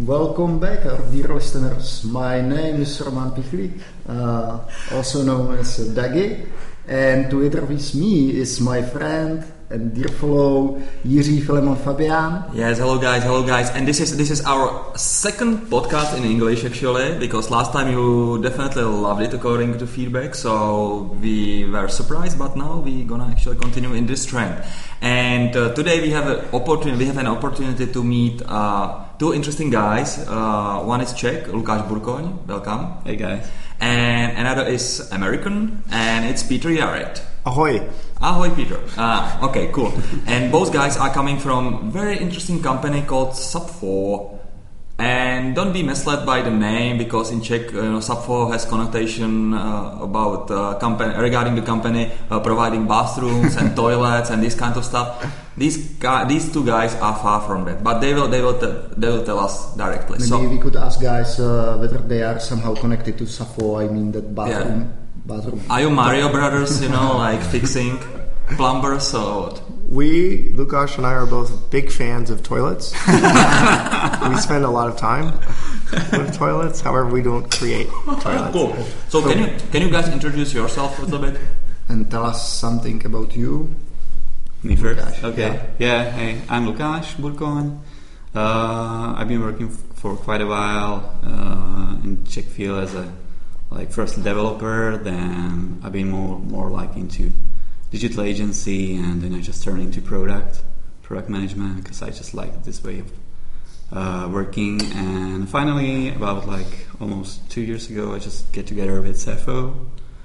Welcome back, our dear listeners. My name is Roman Pichlik, also known as Dagi, and together with me is my friend and dear fellow Jiří Filemon Fabian. Yes, hello guys, and this is our second podcast in English actually, because last time you definitely loved it according to feedback, so we were surprised, but now we're gonna actually continue in this trend. And today we have an opportunity to meet two interesting guys. One is Czech, Lukáš Burkoň, welcome. Hey guys. And another is American, and it's Peter Yared. Ahoy. Ahoy, Peter. Okay, cool. And both guys are coming from very interesting company called Sub4. And don't be misled by the name, because in Czech, Sub4 has connotation about regarding the company providing bathrooms and toilets and this kind of stuff. These two guys are far from that, but they will tell us directly. Maybe we could ask guys whether they are somehow connected to Sub4. I mean that bathroom. Yeah. Are you Mario Brothers, like fixing plumbers or what? We, Lukáš and I, are both big fans of toilets. We spend a lot of time with toilets. However, we don't create toilets. Cool. So can you guys introduce yourself a little bit? And tell us something about you. Me first? Lukáš. Okay. Yeah, hey, I'm Lukáš Burkoň. I've been working for quite a while in Czech field as a first developer, then I've been more like into digital agency, and then I just turned into product management, because I just like this way of working. And finally, about almost 2 years ago, I just get together with Safo,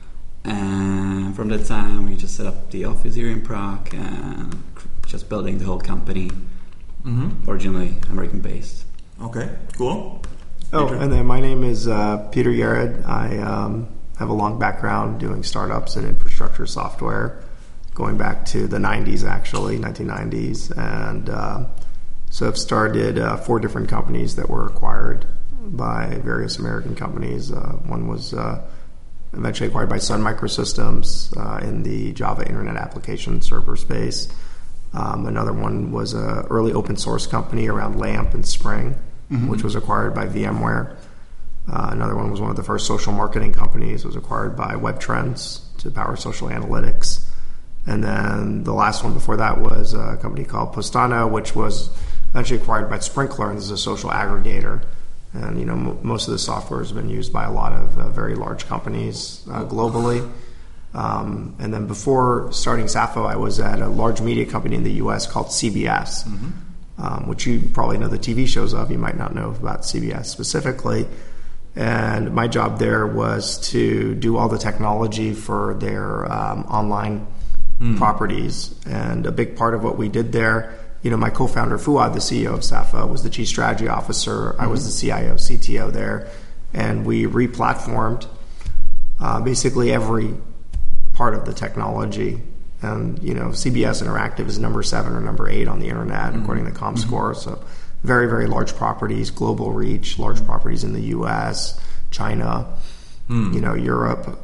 and from that time we just set up the office here in Prague and just building the whole company. Originally American based. Okay, cool. Oh, and then my name is Peter Yared. I have a long background doing startups and infrastructure software, going back to the 90s actually, 1990s. And so I've started 4 different companies that were acquired by various American companies. One was eventually acquired by Sun Microsystems in the Java Internet Application Server space. Another one was an early open source company around LAMP and Spring, which was acquired by VMware. Another one was one of the first social marketing companies. It was acquired by WebTrends to power social analytics. And then the last one before that was a company called Postana, which was eventually acquired by Sprinklr, and this is a social aggregator. And most of the software has been used by a lot of very large companies globally. And then before starting Safo, I was at a large media company in the U.S. called CBS, which you probably know the TV shows of. You might not know about CBS specifically. And my job there was to do all the technology for their online properties. And a big part of what we did there, my co-founder Fuad, the CEO of Safo, was the chief strategy officer. I was the CIO, CTO there. And we re-platformed basically every part of the technology. And CBS Interactive is number 7 or number 8 on the internet according to ComScore. So very, very large properties, global reach, large properties in the US, China, Europe.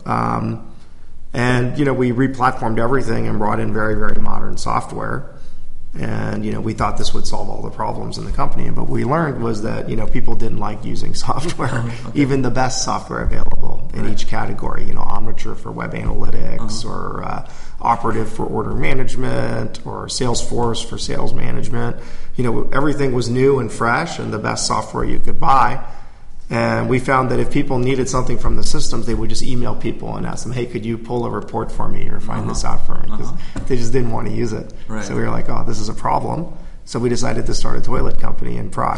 And we re-platformed everything and brought in very, very modern software. And we thought this would solve all the problems in the company. But what we learned was that people didn't like using software, even the best software available in each category. Omniture for web analytics, or Operative for order management, or Salesforce for sales management. Everything was new and fresh and the best software you could buy. And we found that if people needed something from the systems, they would just email people and ask them, hey, could you pull a report for me or find this out for me? Because they just didn't want to use it. Right. So we were like, oh, this is a problem. So we decided to start a toilet company in Prague.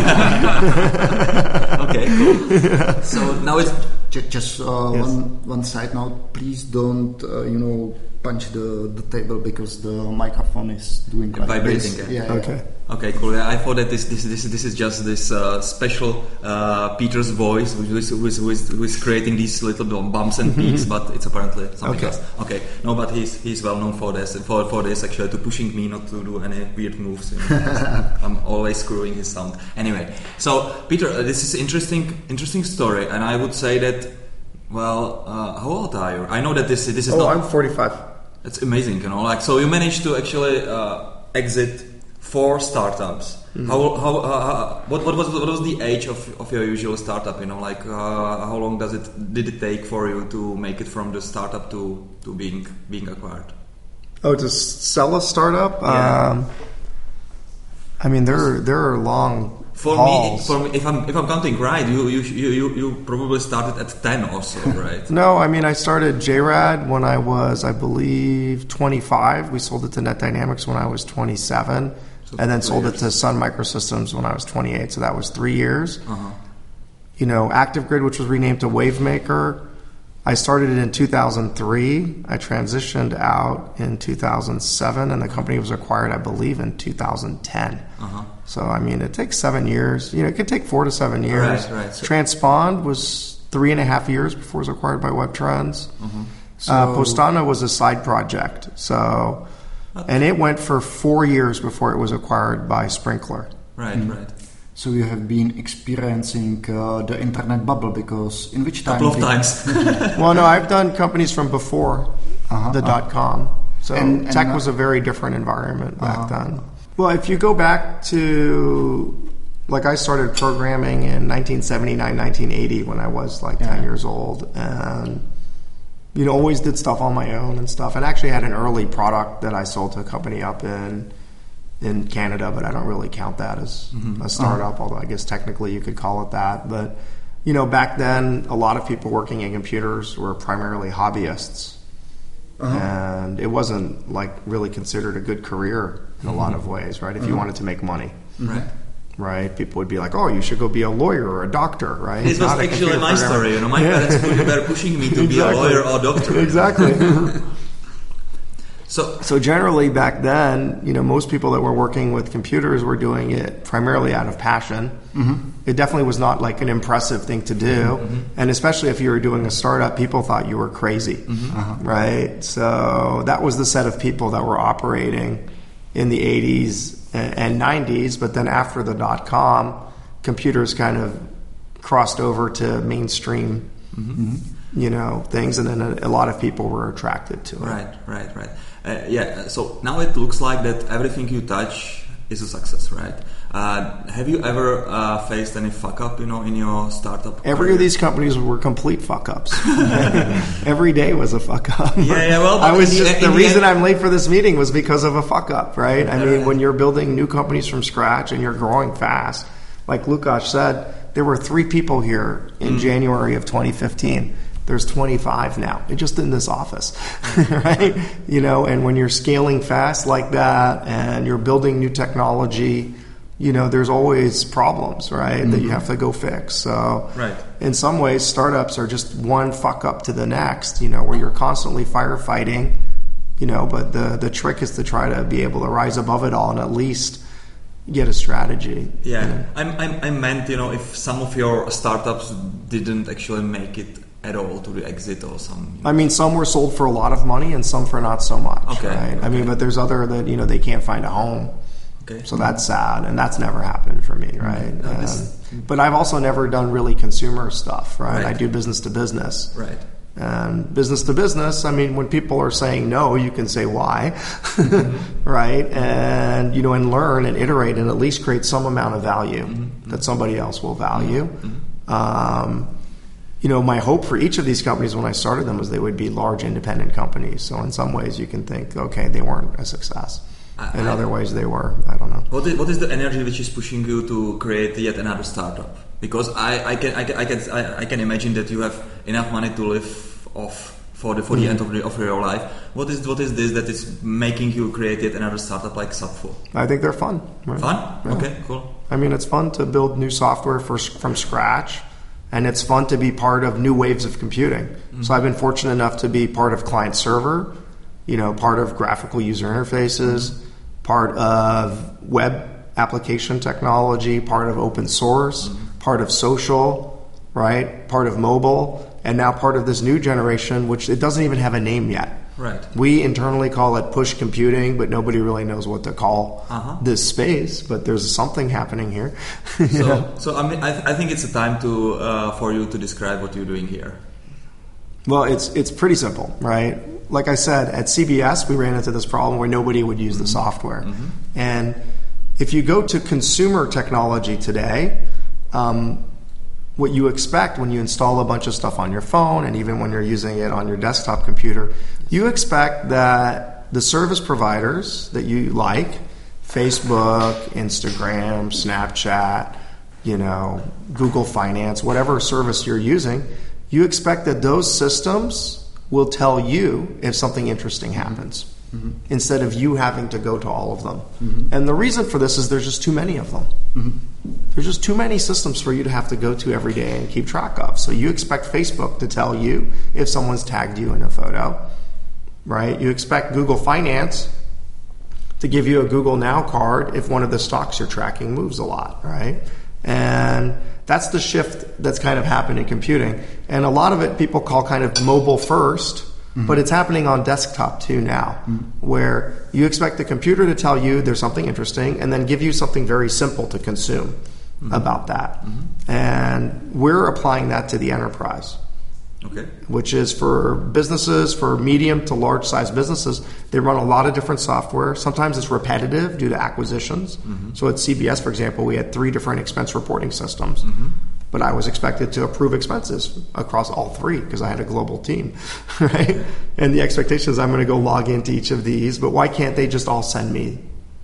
Okay, cool. So now it's... Just one side note, please don't punch the table, because the microphone is doing like vibrating. This. Yeah. Okay, cool. Yeah, I thought that this is just this special Peter's voice, who is creating these little bumps and peaks, but it's apparently something else. Okay, no, but he's well known for this, for this actually, to pushing me not to do any weird moves. I'm always screwing his sound. Anyway, so Peter, this is interesting story, and I would say that. Well, how old are you? I know that this is not... I'm 45. It's amazing, so you managed to actually exit 4 startups. What was the age of your usual startup? Like how long did it take for you to make it from the startup to being acquired? Oh, to sell a startup? Yeah. I mean, there are long For hauls. me, if I'm counting right, you probably started at 10 also, right? No, I mean, I started JRAD when I was, I believe, 25. We sold it to NetDynamics when I was 27, and then sold it to Sun Microsystems when I was 28. So that was 3 years. ActiveGrid, which was renamed to WaveMaker, I started it in 2003. I transitioned out in 2007, and the company was acquired, I believe, in 2010. So, I mean, it takes 7 years. It could take 4 to 7 years. Right. Transpond was 3.5 years before it was acquired by WebTrends. Postana was a side project. So, and it went for 4 years before it was acquired by Sprinklr. Right. So you have been experiencing the internet bubble, because in which time? Couple of times. Well, no, I've done companies from before the .com. So tech was a very different environment back then. Well, if you go back to, like, I started programming in 1979, 1980 when I was like 10 years old, and always did stuff on my own and stuff, and actually had an early product that I sold to a company up in Canada, but I don't really count that as a startup, although I guess technically you could call it that. But, back then, a lot of people working in computers were primarily hobbyists. And it wasn't, like, really considered a good career in a lot of ways, right? If you wanted to make money. Right? People would be like, oh, you should go be a lawyer or a doctor, right? This was actually my story. My parents were pushing me to be a lawyer or a doctor. Exactly. So generally back then, most people that were working with computers were doing it primarily out of passion. It definitely was not like an impressive thing to do. And especially if you were doing a startup, people thought you were crazy, right? So that was the set of people that were operating in the 80s and 90s. But then after the .com, computers kind of crossed over to mainstream things, and then a lot of people were attracted to it. Right. So now it looks like that everything you touch is a success, right? Have you ever faced any fuck up, in your startup? Every of these companies were complete fuck ups. Every day was a fuck up. Well, the reason I'm late for this meeting was because of a fuck up, right? I mean, when you're building new companies from scratch and you're growing fast, like Lukasz said, there were 3 people here in January of 2015. There's 25 now, just in this office, right? And when you're scaling fast like that and you're building new technology, there's always problems, right? That you have to go fix. So in some ways, startups are just one fuck up to the next, where you're constantly firefighting, but the trick is to try to be able to rise above it all and at least get a strategy. I meant, if some of your startups didn't actually make it at all to the exit or some. I mean, some were sold for a lot of money and some for not so much. Right? I mean, but there's other that they can't find a home. So that's sad, and that's never happened for me, right? But I've also never done really consumer stuff, right? I do business to business. Right. And business to business, I mean, when people are saying no, you can say why, right? And, and learn and iterate and at least create some amount of value that somebody else will value. My hope for each of these companies when I started them was they would be large independent companies. So in some ways you can think, okay, they weren't a success. In other ways they were. I don't know. What is the energy which is pushing you to create yet another startup? Because I can imagine that you have enough money to live off for the end of your life. What is this that is making you create yet another startup like Subful? I think they're fun. Right? Fun? Yeah. Okay, cool. I mean, it's fun to build new software from scratch. And it's fun to be part of new waves of computing. So I've been fortunate enough to be part of client server, part of graphical user interfaces, part of web application technology, part of open source, part of social, right? Part of mobile, and now part of this new generation, which it doesn't even have a name yet. Right. We internally call it push computing, but nobody really knows what to call this space. But there's something happening here. So I mean, I think it's a time for you to describe what you're doing here. Well, it's pretty simple, right? Like I said, at CBS, we ran into this problem where nobody would use the software. And If you go to consumer technology today, what you expect when you install a bunch of stuff on your phone, and even when you're using it on your desktop computer, you expect that the service providers that you like, Facebook, Instagram, Snapchat, Google Finance, whatever service you're using, you expect that those systems will tell you if something interesting happens. Mm-hmm. Instead of you having to go to all of them. Mm-hmm. And the reason for this is there's just too many of them. Mm-hmm. There's just too many systems for you to have to go to every day and keep track of. So you expect Facebook to tell you if someone's tagged you in a photo, right? You expect Google Finance to give you a Google Now card if one of the stocks you're tracking moves a lot, right? And that's the shift that's kind of happened in computing. And a lot of it people call kind of mobile first. Mm-hmm. But it's happening on desktop too now, where you expect the computer to tell you there's something interesting and then give you something very simple to consume about that. Mm-hmm. And we're applying that to the enterprise, which is for businesses, for medium to large size businesses. They run a lot of different software. Sometimes it's repetitive due to acquisitions. Mm-hmm. So at CBS, for example, we had 3 different expense reporting systems. Mm-hmm. But I was expected to approve expenses across all 3 because I had a global team, right? And the expectation is I'm going to go log into each of these, but why can't they just all send me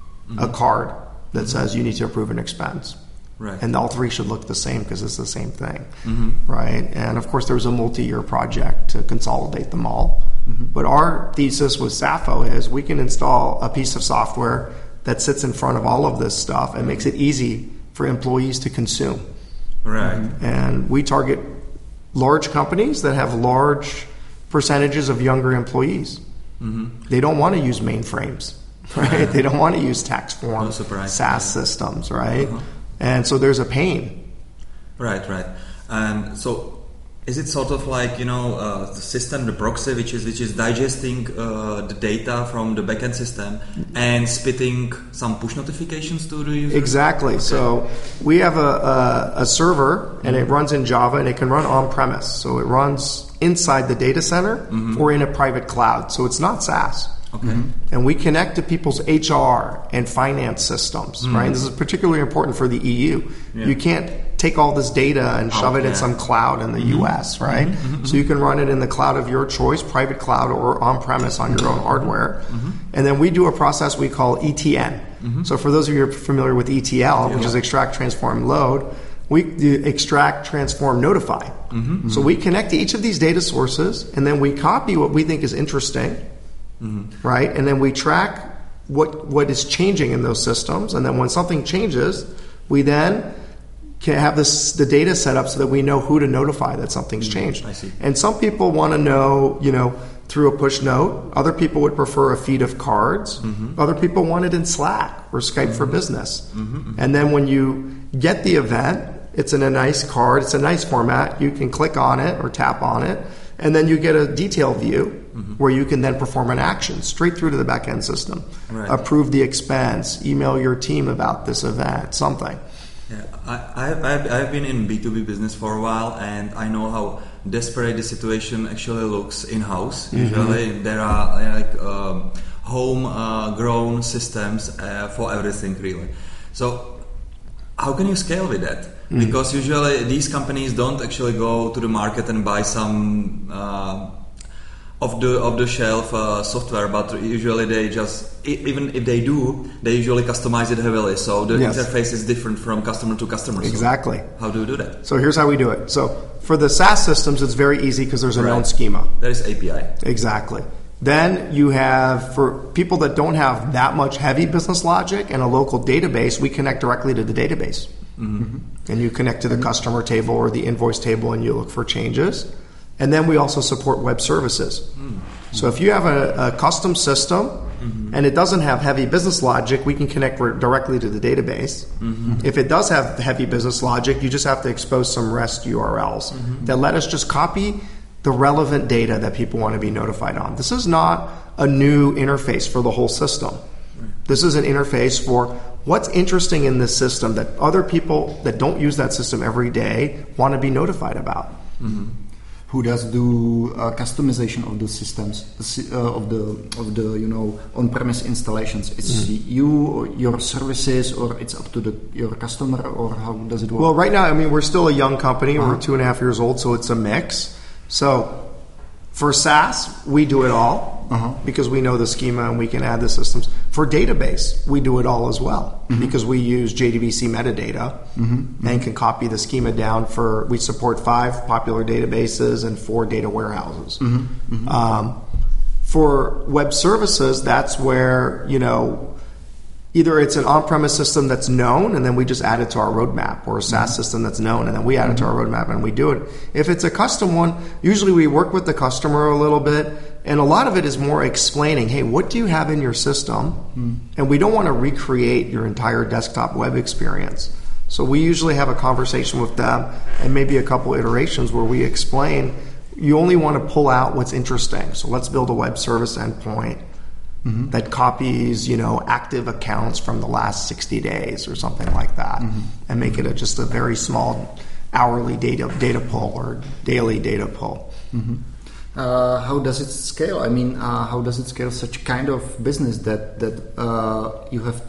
a card that says you need to approve an expense? Right. And all 3 should look the same because it's the same thing, right? And of course, there was a multi-year project to consolidate them all. Mm-hmm. But our thesis with Sappho is we can install a piece of software that sits in front of all of this stuff and makes it easy for employees to consume. Right. And we target large companies that have large percentages of younger employees. Mm-hmm. They don't want to use mainframes, right? They don't want to use tax form, SaaS systems, right? Uh-huh. And so there's a pain. Right. And so is it sort of like, the system, the proxy, which is digesting the data from the backend system and spitting some push notifications to the user? Exactly. Okay. So we have a server, and it runs in Java, and it can run on-premise. So it runs inside the data center or in a private cloud. So it's not SaaS. Okay. And we connect to people's HR and finance systems, right? This is particularly important for the EU. Yeah. You can't take all this data and shove it in some cloud in the US, right? So you can run it in the cloud of your choice, private cloud or on-premise on your own hardware. And then we do a process we call ETN. So for those of you who are familiar with ETL, which is extract, transform, load, we do extract, transform, notify. So we connect to each of these data sources, and then we copy what we think is interesting, right? And then we track what is changing in those systems. And then when something changes, we then can have the data set up so that we know who to notify that something's changed. I see. And some people want to know, through a push note. Other people would prefer a feed of cards. Other people want it in Slack or Skype for Business. And then when you get the event, it's in a nice card. It's a nice format. You can click on it or tap on it. And then you get a detail view where you can then perform an action straight through to the back-end system. Right. Approve the expense, email your team about this event, something. Yeah, I've been in B2B business for a while, and I know how desperate the situation actually looks in-house. Usually there are home-grown systems for everything, really. So how can you scale with that? Because usually these companies don't actually go to the market and buy some off-the-shelf software, but usually they just, even if they do, they usually customize it heavily. So the interface is different from customer to customer. Exactly. So how do you do that? So here's how we do it. So for the SaaS systems, it's very easy because there's a known schema. There is API. Exactly. Then you have, for people that don't have that much heavy business logic and a local database, we connect directly to the database. And you connect to the customer table or the invoice table and you look for changes. And then we also support web services. So if you have a custom system and it doesn't have heavy business logic, we can connect directly to the database. If it does have heavy business logic, you just have to expose some REST URLs that let us just copy the relevant data that people want to be notified on. This is not a new interface for the whole system. This is an interface for what's interesting in this system that other people that don't use that system every day want to be notified about. who does do customization of the systems, of the on-premise installations. It's you or your services, or it's up to your customer, or how does it work? Well, right now, I mean, we're still a young company. We're 2.5 years old, so it's a mix. So for SaaS, we do it all because we know the schema and we can add the systems. For database, we do it all as well because we use JDBC metadata and can copy the schema down we support 5 popular databases and 4 data warehouses. For web services, that's where, either it's an on-premise system that's known and then we just add it to our roadmap, or a SaaS system that's known and then we add it to our roadmap and we do it. If it's a custom one, usually we work with the customer a little bit, and a lot of it is more explaining, hey, what do you have in your system? And we don't want to recreate your entire desktop web experience. So we usually have a conversation with them and maybe a couple iterations where we explain, you only want to pull out what's interesting. So let's build a web service endpoint that copies, active accounts from the last 60 days or something like that, and make it just a very small hourly data pull or daily data pull. How does it scale? I mean, how does it scale such kind of business that you have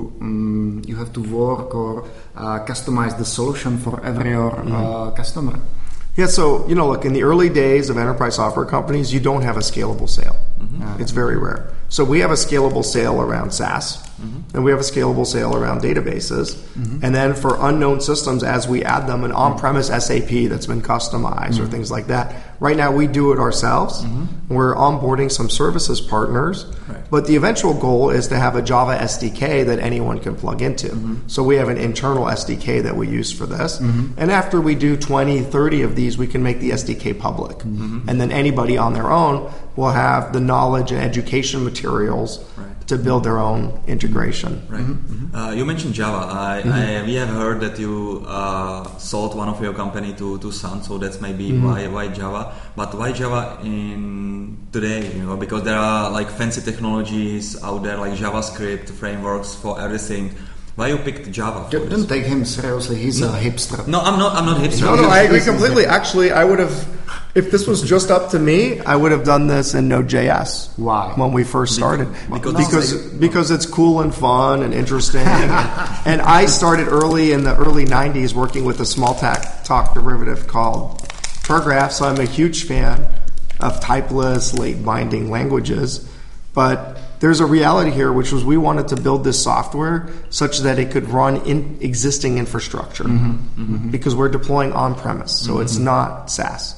to work or customize the solution for every customer? Yeah, so, look, in the early days of enterprise software companies, you don't have a scalable sale. It's very rare. So we have a scalable sale around SaaS, and we have a scalable sale around databases. And then for unknown systems, as we add them, an on-premise SAP that's been customized or things like that. Right now, we do it ourselves. We're onboarding some services partners. But the eventual goal is to have a Java SDK that anyone can plug into. So we have an internal SDK that we use for this. And after we do 20, 30 of these, we can make the SDK public. And then anybody on their own will have the knowledge and education materials to build their own integration. You mentioned Java. We have heard that you sold one of your company to Sun, so that's maybe why Java. But why Java in today? Because there are like fancy technologies out there, like JavaScript frameworks for everything. Why you picked Java? Don't take him seriously. He's a hipster. No, I'm not hipster. No, I agree completely. Actually, I would have, if this was just up to me, I would have done this in Node.js. Why? When we first started. Because it's cool and fun and interesting. And I started early in the early 90s working with a small talk derivative called Prograph, so I'm a huge fan of typeless, late binding languages. But there's a reality here, which was we wanted to build this software such that it could run in existing infrastructure because we're deploying on-premise, so it's not SaaS.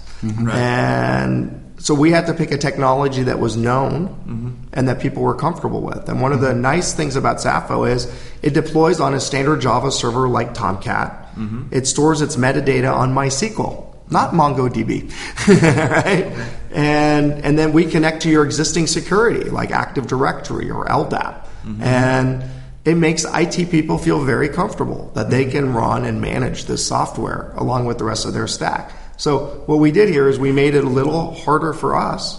And so we had to pick a technology that was known and that people were comfortable with. And one of the nice things about Sappho is it deploys on a standard Java server like Tomcat. It stores its metadata on MySQL, not MongoDB, right? And then we connect to your existing security like Active Directory or LDAP. And it makes IT people feel very comfortable that they can run and manage this software along with the rest of their stack. So what we did here is we made it a little harder for us.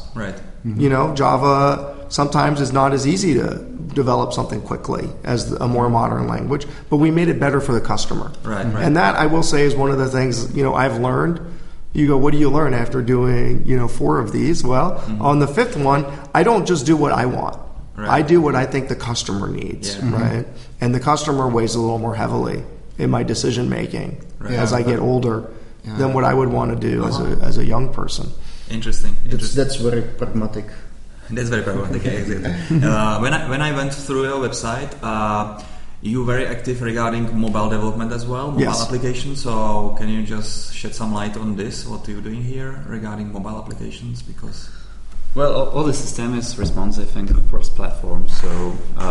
Java sometimes is not as easy to develop something quickly as a more modern language, but we made it better for the customer. And that, I will say, is one of the things, I've learned. You go, what do you learn after doing, 4 of these? Well, on the 5th one, I don't just do what I want. I do what I think the customer needs, right? And the customer weighs a little more heavily in my decision making as I get older than what I would want to do as a young person. Interesting. That's very pragmatic. That's very pragmatic, exactly. When I went through your website, you're very active regarding mobile development as well, mobile applications. So can you just shed some light on this? What are you doing here regarding mobile applications? Because all the system is responsive and cross-platform. So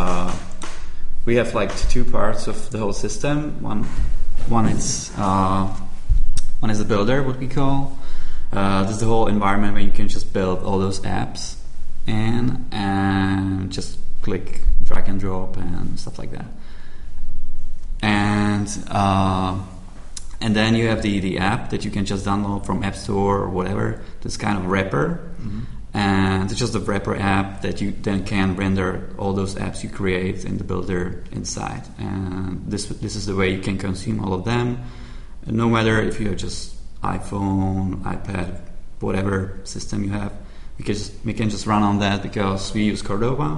we have like 2 parts of the whole system. One is the builder, what we call. This is the whole environment where you can just build all those apps and just click drag and drop and stuff like that. And then you have the app that you can just download from App Store or whatever. This kind of wrapper, and it's just a wrapper app that you then can render all those apps you create in the builder inside. And this is the way you can consume all of them, no matter if you have just iPhone, iPad, whatever system you have. We can just run on that because we use Cordova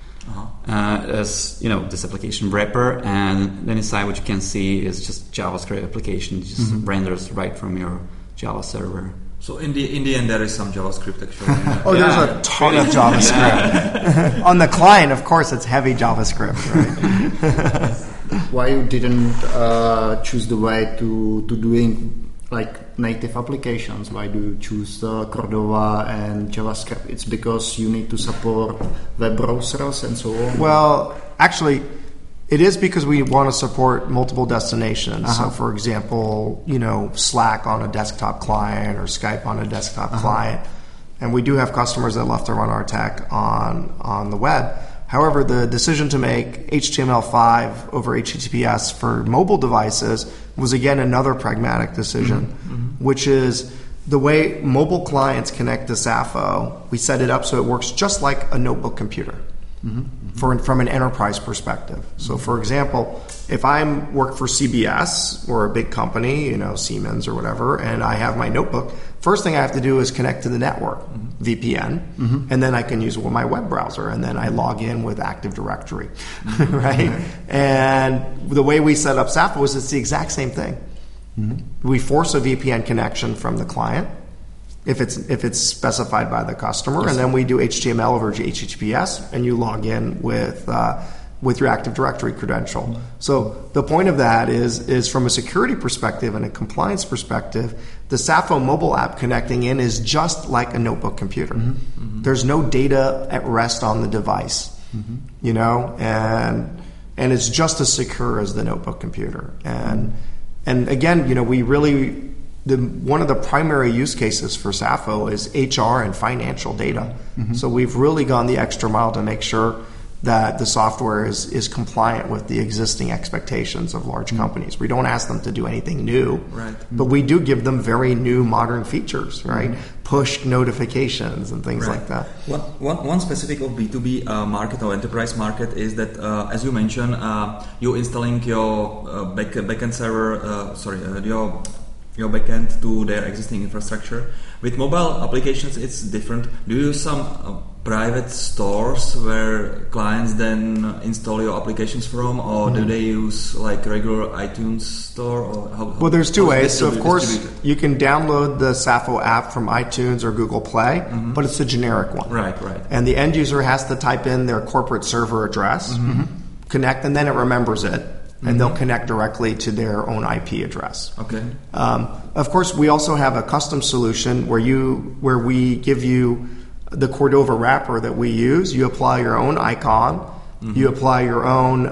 as this application wrapper, and then inside what you can see is just JavaScript application. It just renders right from your Java server. So in the end, there is some JavaScript actually. There's a ton of JavaScript. On the client, of course, it's heavy JavaScript, right? Why you didn't choose the way to doing like native applications? Why do you choose Cordova and JavaScript? It's because you need to support web browsers and so on? Well, actually, it is because we want to support multiple destinations. So, for example, Slack on a desktop client or Skype on a desktop client. And we do have customers that love to run our tech on the web. However, the decision to make HTML5 over HTTPS for mobile devices was, again, another pragmatic decision, which is the way mobile clients connect to Sappho. We set it up so it works just like a notebook computer. From an enterprise perspective. So, for example, if I work for CBS or a big company, Siemens or whatever, and I have my notebook, first thing I have to do is connect to the network, VPN, and then I can use my web browser, and then I log in with Active Directory, right? And the way we set up Sappho is it's the exact same thing. We force a VPN connection from the client, if it's specified by the customer, and then we do HTML over HTTPS, and you log in with your Active Directory credential. So the point of that is from a security perspective and a compliance perspective, the Sappho mobile app connecting in is just like a notebook computer. There's no data at rest on the device, and it's just as secure as the notebook computer. And again, we really. One of the primary use cases for Sappho is HR and financial data. So we've really gone the extra mile to make sure that the software is compliant with the existing expectations of large companies. We don't ask them to do anything new, but we do give them very new modern features, right? Push notifications and things like that. One specific of B2B market or enterprise market is that, as you mentioned, you're installing your backend server, your backend to their existing infrastructure. With mobile applications, it's different. Do you use some private stores where clients then install your applications from, or do they use like regular iTunes store? Or there's two ways. So of course, you can download the Sappho app from iTunes or Google Play, but it's a generic one. Right. And the end user has to type in their corporate server address, connect, and then it remembers it. And they'll connect directly to their own IP address. Okay. Of course, we also have a custom solution where we give you the Cordova wrapper that we use. You apply your own icon. You apply your own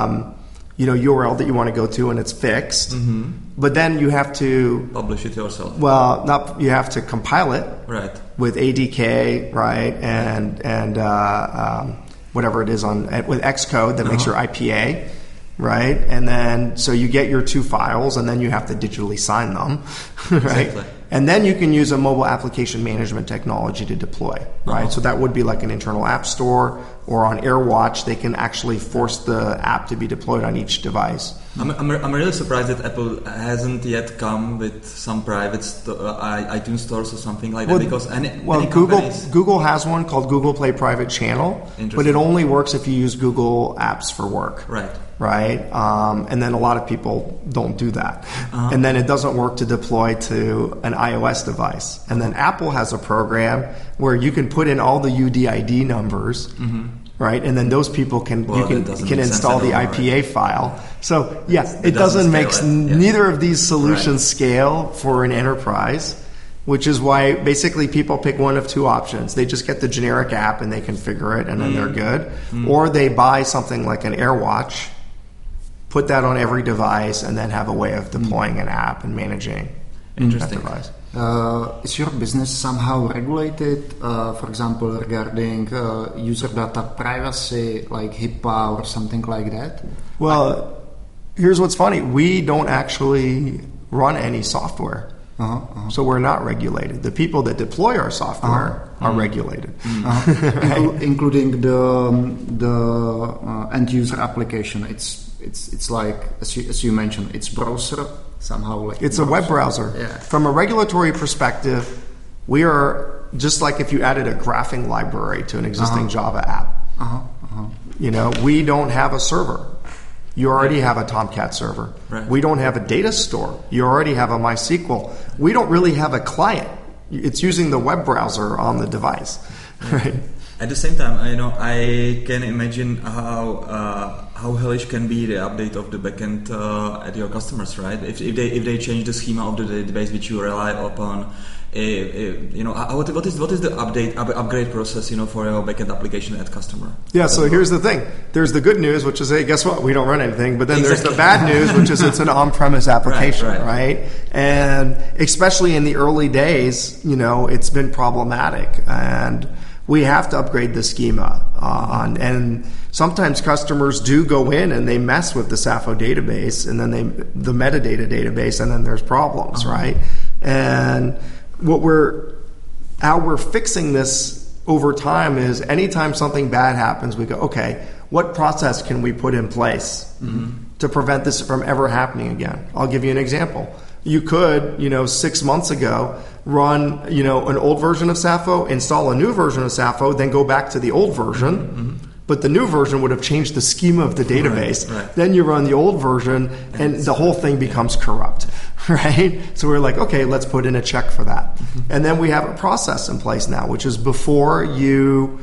URL that you want to go to, and it's fixed. But then you have to publish it yourself. Well, you have to compile it. Right. With ADK, right, and whatever it is with Xcode that makes your IPA. Right, and then so you get your two files, and then you have to digitally sign them, right? Exactly. And then you can use a mobile application management technology to deploy, right? So that would be like an internal app store, or on AirWatch, they can actually force the app to be deployed on each device. I'm really surprised that Apple hasn't yet come with some private iTunes stores or something like that, because Google has one called Google Play Private Channel, but it only works if you use Google Apps for work. Right? And then a lot of people don't do that. And then it doesn't work to deploy to an iOS device. And then Apple has a program where you can put in all the UDID numbers, right? And then those people can install the IPA file. So, it doesn't make neither of these solutions scale for an enterprise, which is why basically people pick one of two options. They just get the generic app and they configure it, and then they're good. Or they buy something like an AirWatch, put that on every device, and then have a way of deploying an app and managing that device. Is your business somehow regulated, for example, regarding user data privacy, like HIPAA or something like that? Well, here's what's funny. We don't actually run any software. So we're not regulated. The people that deploy our software are regulated, right? Including the end user application. It's like as you mentioned, it's browser somehow. Like it's a web browser. Yeah. From a regulatory perspective, We are just like if you added a graphing library to an existing Java app. We don't have a server. You already have a Tomcat server. Right. We don't have a data store. You already have a MySQL. We don't really have a client. It's using the web browser on the device, right? At the same time, I can imagine how hellish can be the update of the backend at your customers, right? If they change the schema of the database which you rely upon, what is the upgrade process, for your backend application at customer? Yeah. So here's the thing. There's the good news, which is, hey, guess what? We don't run anything. But then there's the bad news, which is it's an on-premise application, right? And especially in the early days, it's been problematic, and we have to upgrade the schema and sometimes customers do go in and they mess with the Sappho database and then the metadata database, and then there's problems, right? And how we're fixing this over time is anytime something bad happens, we go, okay, what process can we put in place to prevent this from ever happening again? I'll give you an example. You could, 6 months ago, run, an old version of Sappho, install a new version of Sappho, then go back to the old version. But the new version would have changed the schema of the database. Right. Then you run the old version, and the whole thing becomes corrupt, right? So we're like, okay, let's put in a check for that. And then we have a process in place now, which is before you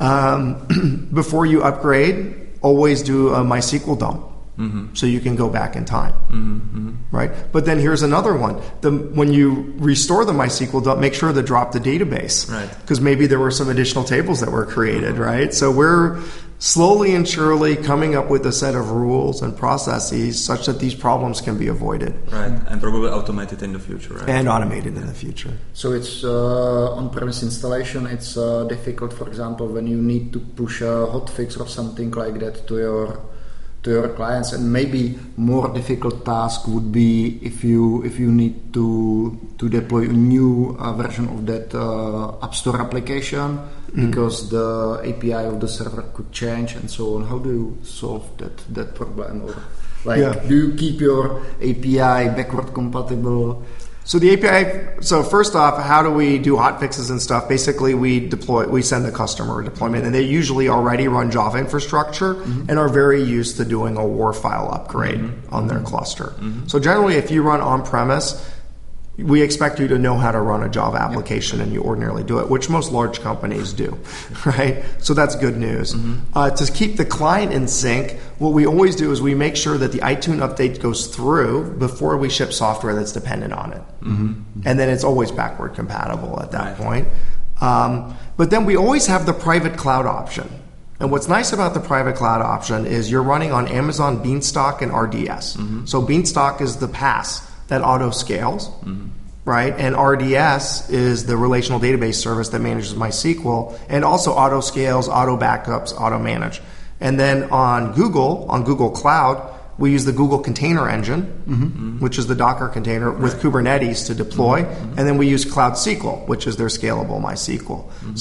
upgrade, always do a MySQL dump. So you can go back in time, right? But then here's another one. When you restore the MySQL dump, make sure to drop the database, right? Because maybe there were some additional tables that were created, right? So we're slowly and surely coming up with a set of rules and processes such that these problems can be avoided. Right, and probably automated in the future, right? And automated in the future. So it's on-premise installation. It's difficult, for example, when you need to push a hotfix or something like that to your clients, and maybe more difficult task would be if you need to deploy a new version of that App Store application because the API of the server could change and so on. How do you solve that problem? Or do you keep your API backward compatible? So the API, first off, how do we do hotfixes and stuff? Basically, we send the customer a deployment, and they usually already run Java infrastructure and are very used to doing a WAR file upgrade on their cluster. So generally, if you run on-premise, we expect you to know how to run a Java application, and you ordinarily do it, which most large companies do, right? So that's good news. To keep the client in sync, what we always do is we make sure that the iTunes update goes through before we ship software that's dependent on it. And then it's always backward compatible at that point. But then we always have the private cloud option. And what's nice about the private cloud option is you're running on Amazon Beanstalk and RDS. So Beanstalk is the PaaS that auto scales, right? And RDS is the relational database service that manages MySQL and also auto scales, auto backups, auto manage. And then on Google Cloud, we use the Google Container Engine, which is the Docker container with Kubernetes to deploy. And then we use Cloud SQL, which is their scalable MySQL.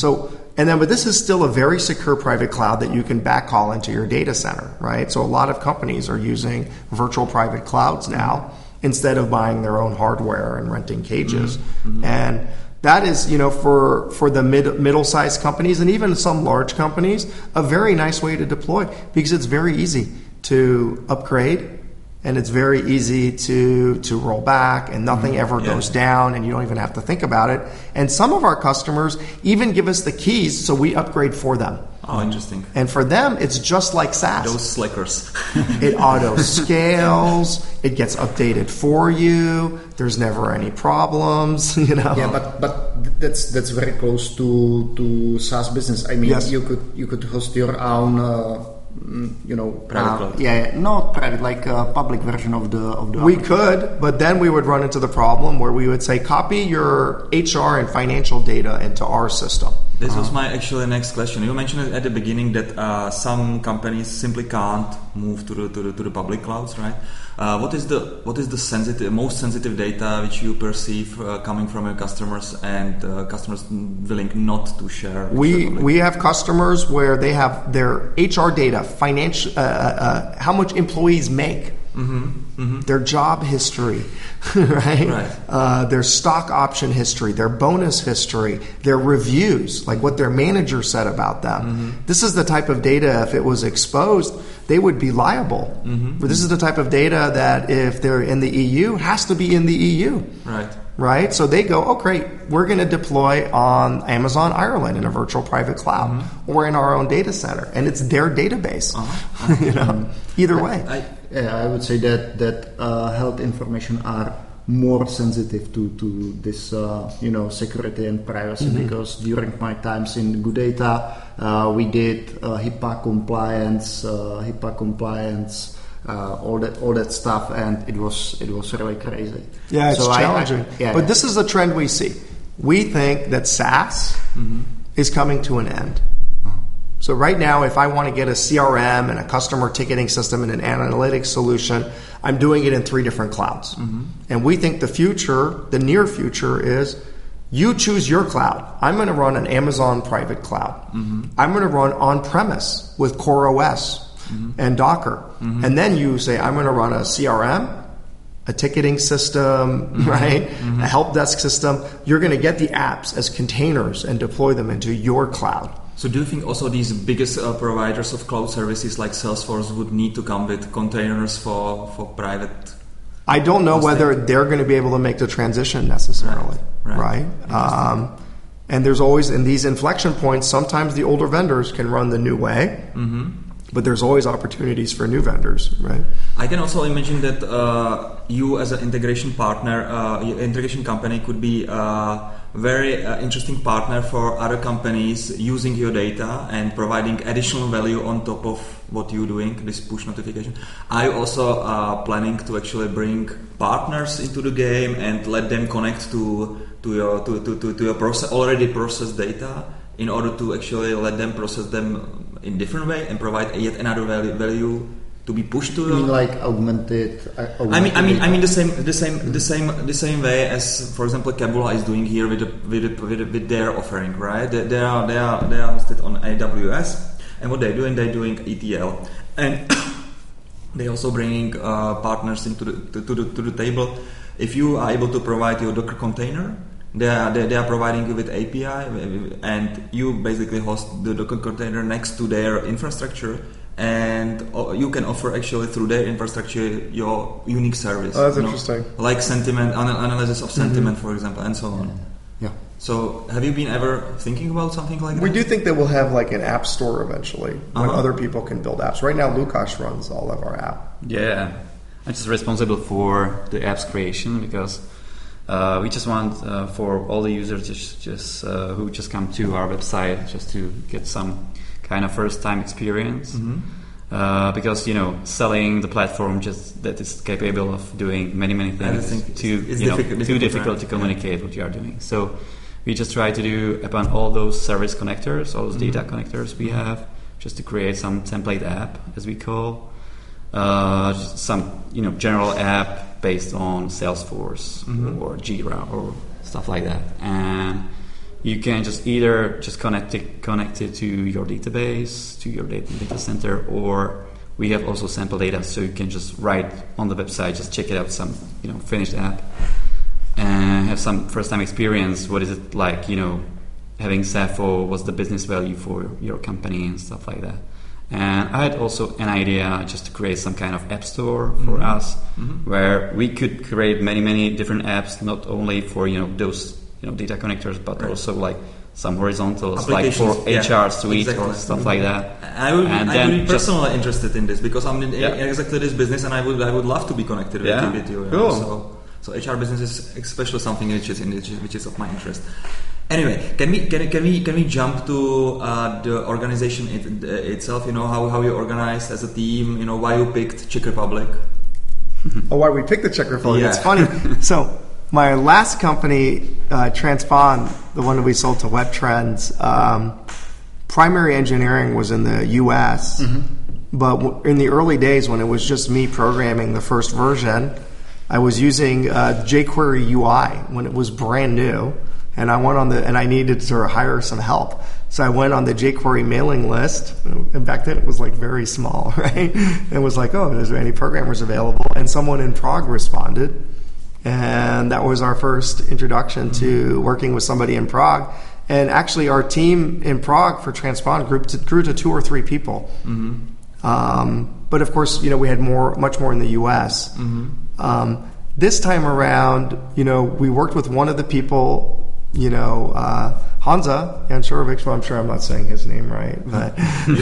But this is still a very secure private cloud that you can backhaul into your data center, right? So a lot of companies are using virtual private clouds now instead of buying their own hardware and renting cages. And that is, for the middle-sized companies and even some large companies, a very nice way to deploy because it's very easy to upgrade and it's very easy to roll back and nothing ever goes down and you don't even have to think about it. And some of our customers even give us the keys so we upgrade for them. Oh, interesting. And for them, it's just like SaaS. Those slackers. It auto scales. It gets updated for you. There's never any problems. Yeah, but that's very close to SaaS business. I mean, you could host your own. Private cloud. Not private, like a public version of the. We could, but then we would run into the problem where we would say, copy your HR and financial data into our system. This was my actually next question. You mentioned at the beginning that some companies simply can't move to the public clouds, right? What is the most sensitive data which you perceive coming from your customers and customers willing not to share? We have customers where they have their HR data, financial, how much employees make, their job history, right? Their stock option history, their bonus history, their reviews, like what their manager said about them. This is the type of data, if it was exposed, they would be liable. But this is the type of data that if they're in the EU, has to be in the EU. Right? So they go, oh great, we're going to deploy on Amazon Ireland in a virtual private cloud or in our own data center, and it's their database. Either way. I would say that health information are more sensitive to this security and privacy, because during my times in GoodData, we did HIPAA compliance, all that stuff, and it was really crazy. Yeah, it's challenging. But this is a trend we see. We think that SaaS is coming to an end. So right now, if I want to get a CRM and a customer ticketing system and an analytics solution, I'm doing it in 3 different clouds. And we think the near future is you choose your cloud. I'm going to run an Amazon private cloud. I'm going to run on-premise with CoreOS and Docker. And then you say, I'm going to run a CRM, a ticketing system, right? A help desk system. You're going to get the apps as containers and deploy them into your cloud. So do you think also these biggest providers of cloud services like Salesforce would need to come with containers for private? I don't know whether they're going to be able to make the transition necessarily, right? And there's always, in these inflection points, sometimes the older vendors can run the new way, but there's always opportunities for new vendors, right? I can also imagine that you as an integration partner, integration company could be very interesting partner for other companies using your data and providing additional value on top of what you're doing, this push notification. Are you also planning to actually bring partners into the game and let them connect to your already processed data in order to actually let them process them in different way and provide yet another value to be pushed to? You mean like augmented? I mean the same way as, for example, Kabula is doing here with their offering, right? They are hosted on AWS, and what they're doing ETL, and they also bringing partners into the table. If you are able to provide your Docker container, they are providing you with API, and you basically host the Docker container next to their infrastructure. And you can offer actually through their infrastructure your unique service. Oh, that's interesting. Like sentiment, analysis of sentiment, for example, and so on. Yeah. So have you been ever thinking about something like that? We do think that we'll have like an app store eventually when other people can build apps. Right now, Lukasz runs all of our app. Yeah. I'm just responsible for the app's creation because we just want for all the users just who just come to our website just to get some kind of first-time experience, because selling the platform just that is capable of doing many things too difficult to communicate what you are doing. So we just try to do upon all those service connectors, all those data connectors we have, just to create some template app, as we call, some general app based on Salesforce or Jira or stuff like that, and you can just either connect it to your database, to your data center, or we have also sample data, so you can just write on the website, just check it out, some finished app, and have some first-time experience. What is it like, having Sappho? What's the business value for your company and stuff like that? And I had also an idea just to create some kind of app store for us, where we could create many different apps, not only for those data connectors, but also like some horizontals, like for HR suite or stuff like that. I would be personally interested in this because I'm in exactly this business, and I would love to be connected with you. Cool. So HR business is especially something which is of my interest. Anyway, can we jump to the organization itself? How you organized as a team. Why you picked Czech Republic? Why we picked the Czech Republic? It's funny. So my last company, Transpond, the one that we sold to WebTrends, primary engineering was in the U.S., but in the early days when it was just me programming the first version, I was using jQuery UI when it was brand new, And I needed to hire some help. So I went on the jQuery mailing list, and back then it was like very small, right? And was like, oh, is there any programmers available? And someone in Prague responded. And that was our first introduction to working with somebody in Prague. And actually our team in Prague for Transpond grew to 2 or 3 people. But of course, we had much more in the US. This time around, we worked with one of the people, Hansa Janšorovič, well, I'm sure I'm not saying his name right, but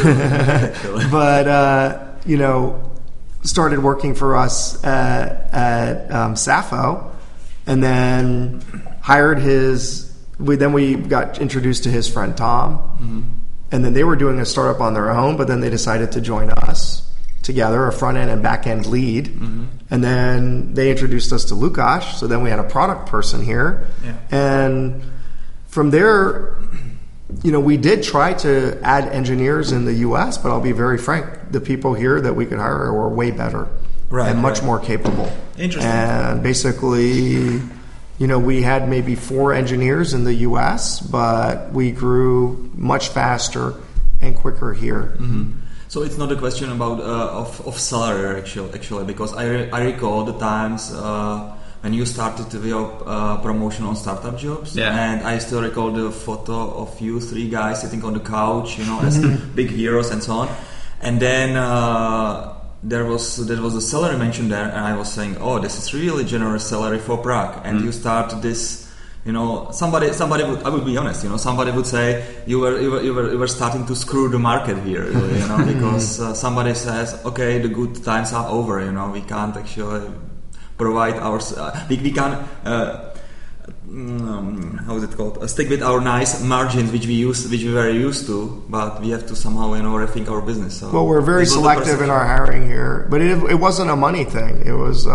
started working for us at Sappho, and then hired we got introduced to his friend Tom, and then they were doing a startup on their own, but then they decided to join us together, a front end and back end lead, and then they introduced us to Lukáš. So then we had a product person here, and from there, we did try to add engineers in the U.S., but I'll be very frank, the people here that we could hire were way better and much more capable. Interesting. And basically, we had maybe 4 engineers in the U.S., but we grew much faster and quicker here. So it's not a question about of salary actually, because I recall the times when you started your promotion on startup jobs, and I still recall the photo of you 3 guys sitting on the couch, as big heroes and so on. And then there was a salary mentioned there, and I was saying, oh, this is really generous salary for Prague. And you start this. Somebody would, I would be honest, somebody would say you were starting to screw the market here, really, because somebody says, okay, the good times are over, we can't actually provide our, we can't, how is it called? Stick with our nice margins, which we were used to, but we have to somehow, rethink our business. So well, we're very selective in our hiring here, but it wasn't a money thing. It was,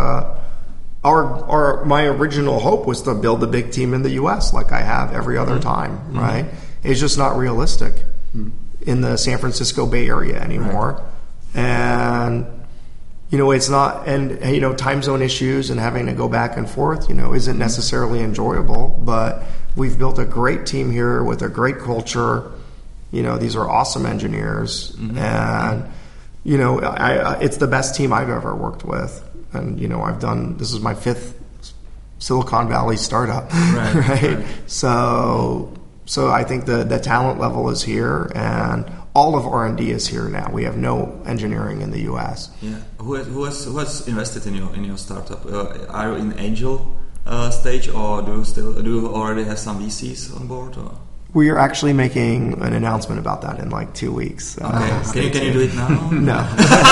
my original hope was to build a big team in the U.S. like I have every other time, right? It's just not realistic in the San Francisco Bay Area anymore. And, it's not, and, time zone issues and having to go back and forth, isn't necessarily enjoyable, but we've built a great team here with a great culture. These are awesome engineers, and, it's the best team I've ever worked with. And, this is my 5th Silicon Valley startup, right? So I think the talent level is here, and all of R&D is here now. We have no engineering in the U.S. Yeah. Who has invested in your startup? Are you in angel stage, or do you already have some VCs on board? Or? We are actually making an announcement about that in like 2 weeks. Okay. Can you do it now? No.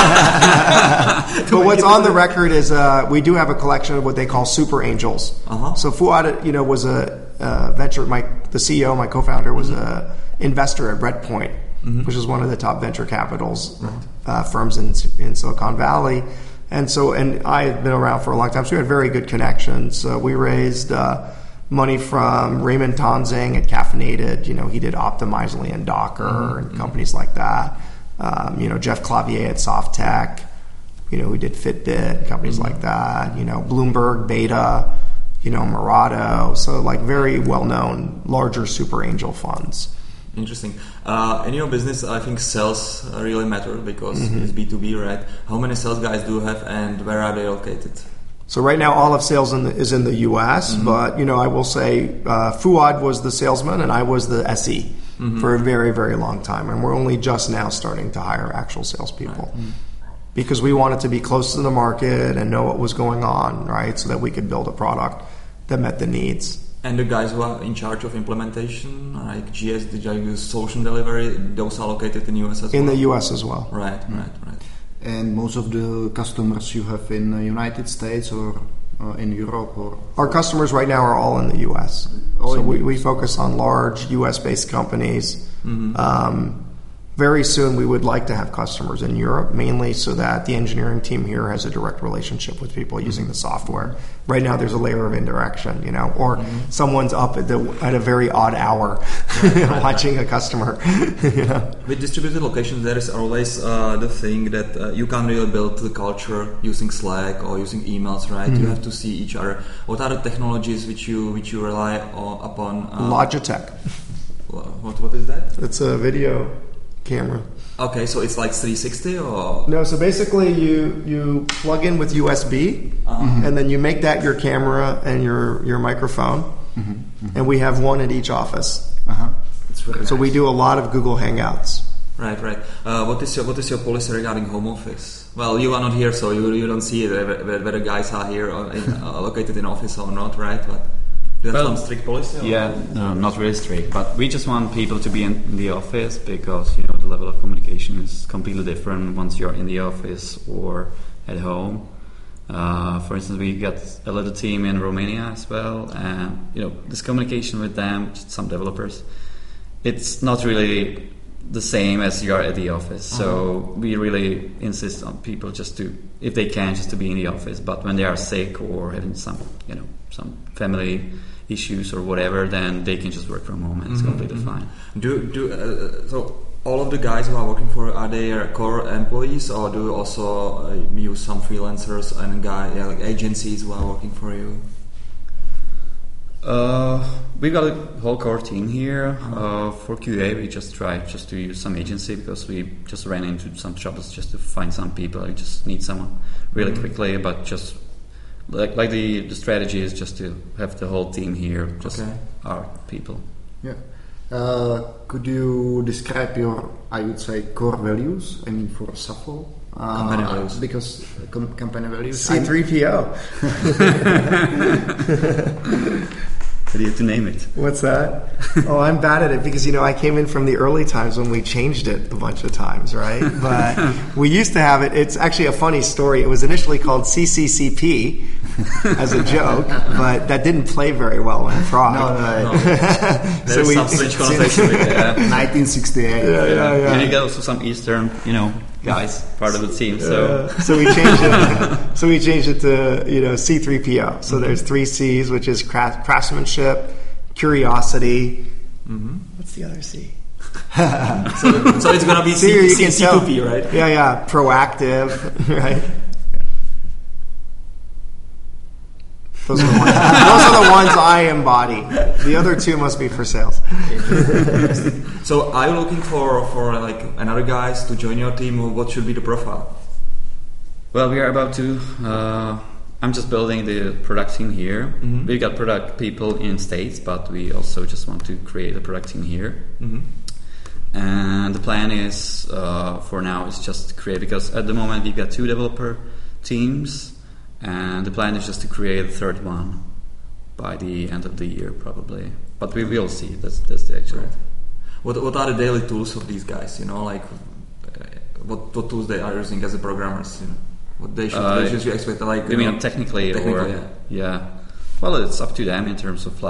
But what's on the record is we do have a collection of what they call super angels. So Fuad, was a venture. The CEO, my co-founder, was a investor at Redpoint, which is one of the top venture capitals firms in Silicon Valley. And I had been around for a long time, so we had very good connections. We raised money from Raymond Tonsing at Caffeinated. He did Optimizely and Docker and companies like that. Jeff Clavier at Softtech. We did Fitbit, companies like that. Bloomberg, Beta, Murado. So like very well-known, larger super angel funds. Interesting. In your business, I think sales really matter because it's B2B, right? How many sales guys do you have, and where are they located? So right now, all of sales is in the U.S., but, I will say Fuad was the salesman and I was the SE for a very, very long time. And we're only just now starting to hire actual salespeople because we wanted to be close to the market and know what was going on, right, so that we could build a product that met the needs. And the guys who are in charge of implementation, like GS, solution delivery, those are located in the U.S. as well? In the U.S. as well. Right. And most of the customers you have in the United States or in Europe? Or our customers right now are all in the U.S. So we focus on large U.S.-based companies. Very soon we would like to have customers in Europe, mainly so that the engineering team here has a direct relationship with people using the software. Right now there's a layer of indirection, or someone's up at a very odd hour watching a customer. You know? With distributed locations, there is always the thing that you can't really build the culture using Slack or using emails, right? You have to see each other. What are the technologies which you rely upon? Logitech. What is that? It's a video camera. Okay, so it's like 360 or No, so basically you plug in with USB, and then you make that your camera and your microphone, and we have one at each office. it's very So nice. we do a lot of Google Hangouts. Right. What is your policy regarding home office? Well, you are not here, so you don't see it whether guys are here or located in office or not, right? But do you have some strict policy? Or? Yeah, no, not really strict, but we just want people to be in the office because the level of communication is completely different once you're in the office or at home. For instance, we got a little team in Romania as well, and this communication with them, some developers, it's not really the same as you are at the office. So we really insist on people just to, if they can, just to be in the office. But when they are sick or having some family issues or whatever, then they can just work from home and it's completely fine. So all of the guys who are working for, are they core employees, or do you also use some freelancers and like agencies who are working for you? We've got a whole core team here. For QA, we just tried to use some agency because we just ran into some troubles just to find some people. I just need someone really quickly, but just like the strategy is just to have the whole team here, just our people. Yeah. Could you describe your, I would say, core values? I mean, for Safo. Company values. Because company values. C3PO. How do you have to name it? What's that? Oh, I'm bad at it because, I came in from the early times when we changed it a bunch of times, right? But we used to have it. It's actually a funny story. It was initially called CCCP as a joke, but that didn't play very well in Prague. No. There's some French connotation with it. 1968. Yeah. And you got also some Eastern, guys part of the team. So So we changed it. So we changed it to C3PO. So there's 3 C's, which is craftsmanship, curiosity. What's the other C? so it's gonna be C2P, right? Yeah. Proactive, right? Those are the ones I embody. The other 2 must be for sales. So are you looking for like another guys to join your team, or what should be the profile? Well, we are about to. I'm just building the product team here. We got product people in States, but we also just want to create a product team here. And the plan is, for now, is just to create, because at the moment we got 2 developer teams, and the plan is just to create a 3rd one by the end of the year, probably. But we will see. That's the actual. Right. What are the daily tools of these guys? Like what tools they are using as a programmers? What they should you expect? Like you mean technically, or yeah. Well, it's up to them in terms of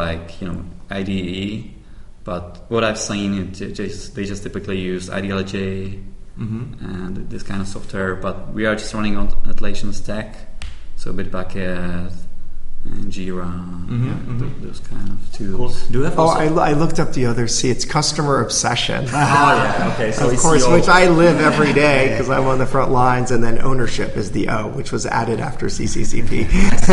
IDE. But what I've seen, they just typically use IDLJ and this kind of software. But we are just running on Atlassian Stack, so Bitbucket and Jira, those kind of tools. Cool. Do you have also? I looked up the other C. It's customer obsession. Okay. So of course, which I live every day because I'm on the front lines, and then ownership is the O, which was added after CCCP.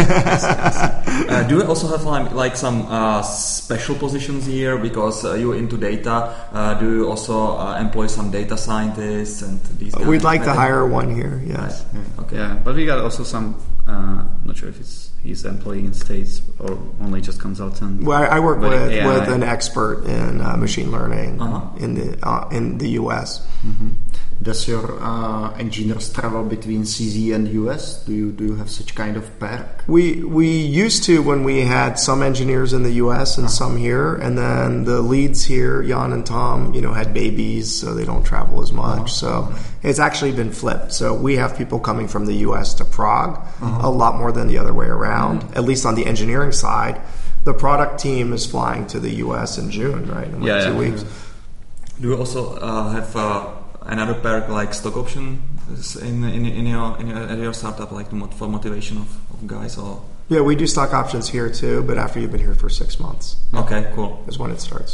Do you also have like some special positions here because you're into data? Do you also employ some data scientists and these? We'd like to hire one here. Yes. Right. Okay. Yeah, but we got also some. Not sure if he's employee in States or only just consultant. Well, I work with AI. an expert in machine learning in the US. Does your engineers travel between CZ and US? Do you have such kind of pair? We used to when we had some engineers in the US and some here, and then the leads here, Jan and Tom, had babies, so they don't travel as much. So it's actually been flipped. So we have people coming from the US to Prague a lot more than the other way around. At least on the engineering side, the product team is flying to the US in June, right? In 2 weeks. Do you also have another perk like stock option in your startup, like for motivation of guys? Or Yeah, we do stock options here too, but after you've been here for 6 months. Okay, cool. Is when it starts.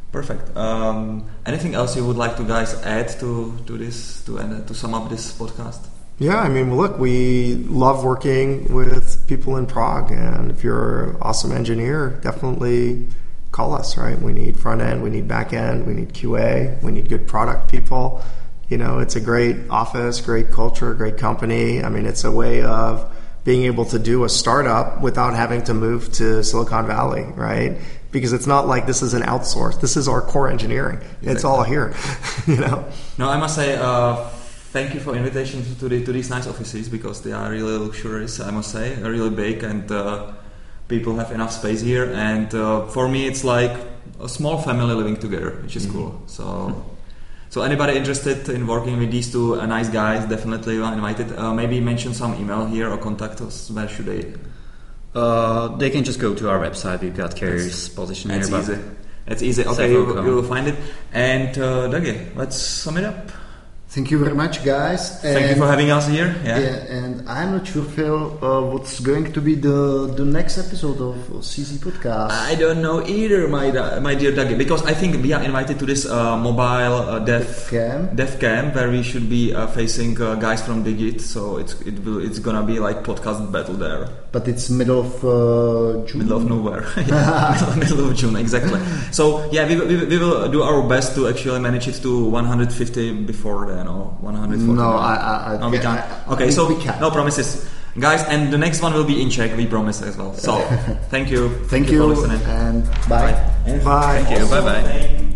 Perfect. Anything else you would like to guys add to this to sum up this podcast? Yeah, I mean, look, we love working with people in Prague, and if you're an awesome engineer, definitely call us, right? We need front end, we need back end, we need QA, we need good product people. You know, it's a great office, great culture, great company. I mean, it's a way of being able to do a startup without having to move to Silicon Valley, right? Because it's not like this is an outsource. This is our core engineering. Exactly. It's all here, you know? No, I must say, thank you for invitation to these nice offices, because they are really luxurious, I must say, really big, and people have enough space here. And for me, it's like a small family living together, which is cool. So anybody interested in working with these two nice guys, definitely invited. Maybe mention some email here or contact us. Where should they? They can just go to our website. We've got Carrier's position here. That's easy. It's easy. Okay, you will find it. And Dagi, let's sum it up. Thank you very much, guys. Thank you for having us here. Yeah, and I'm not sure, Phil, what's going to be the next episode of CZ Podcast. I don't know either, my dear Dagi, because I think we are invited to this mobile dev camp where we should be facing guys from Digit. So it's gonna be like podcast battle there. But it's middle of June. Middle of nowhere. middle of June, exactly. So yeah, we will do our best to actually manage it to 150 before then, or 140. No, we can't. Okay, so we can. No promises, guys. And the next one will be in Czech. We promise as well. So thank you. Thank you for listening. And bye. Bye. Thank you. Bye bye.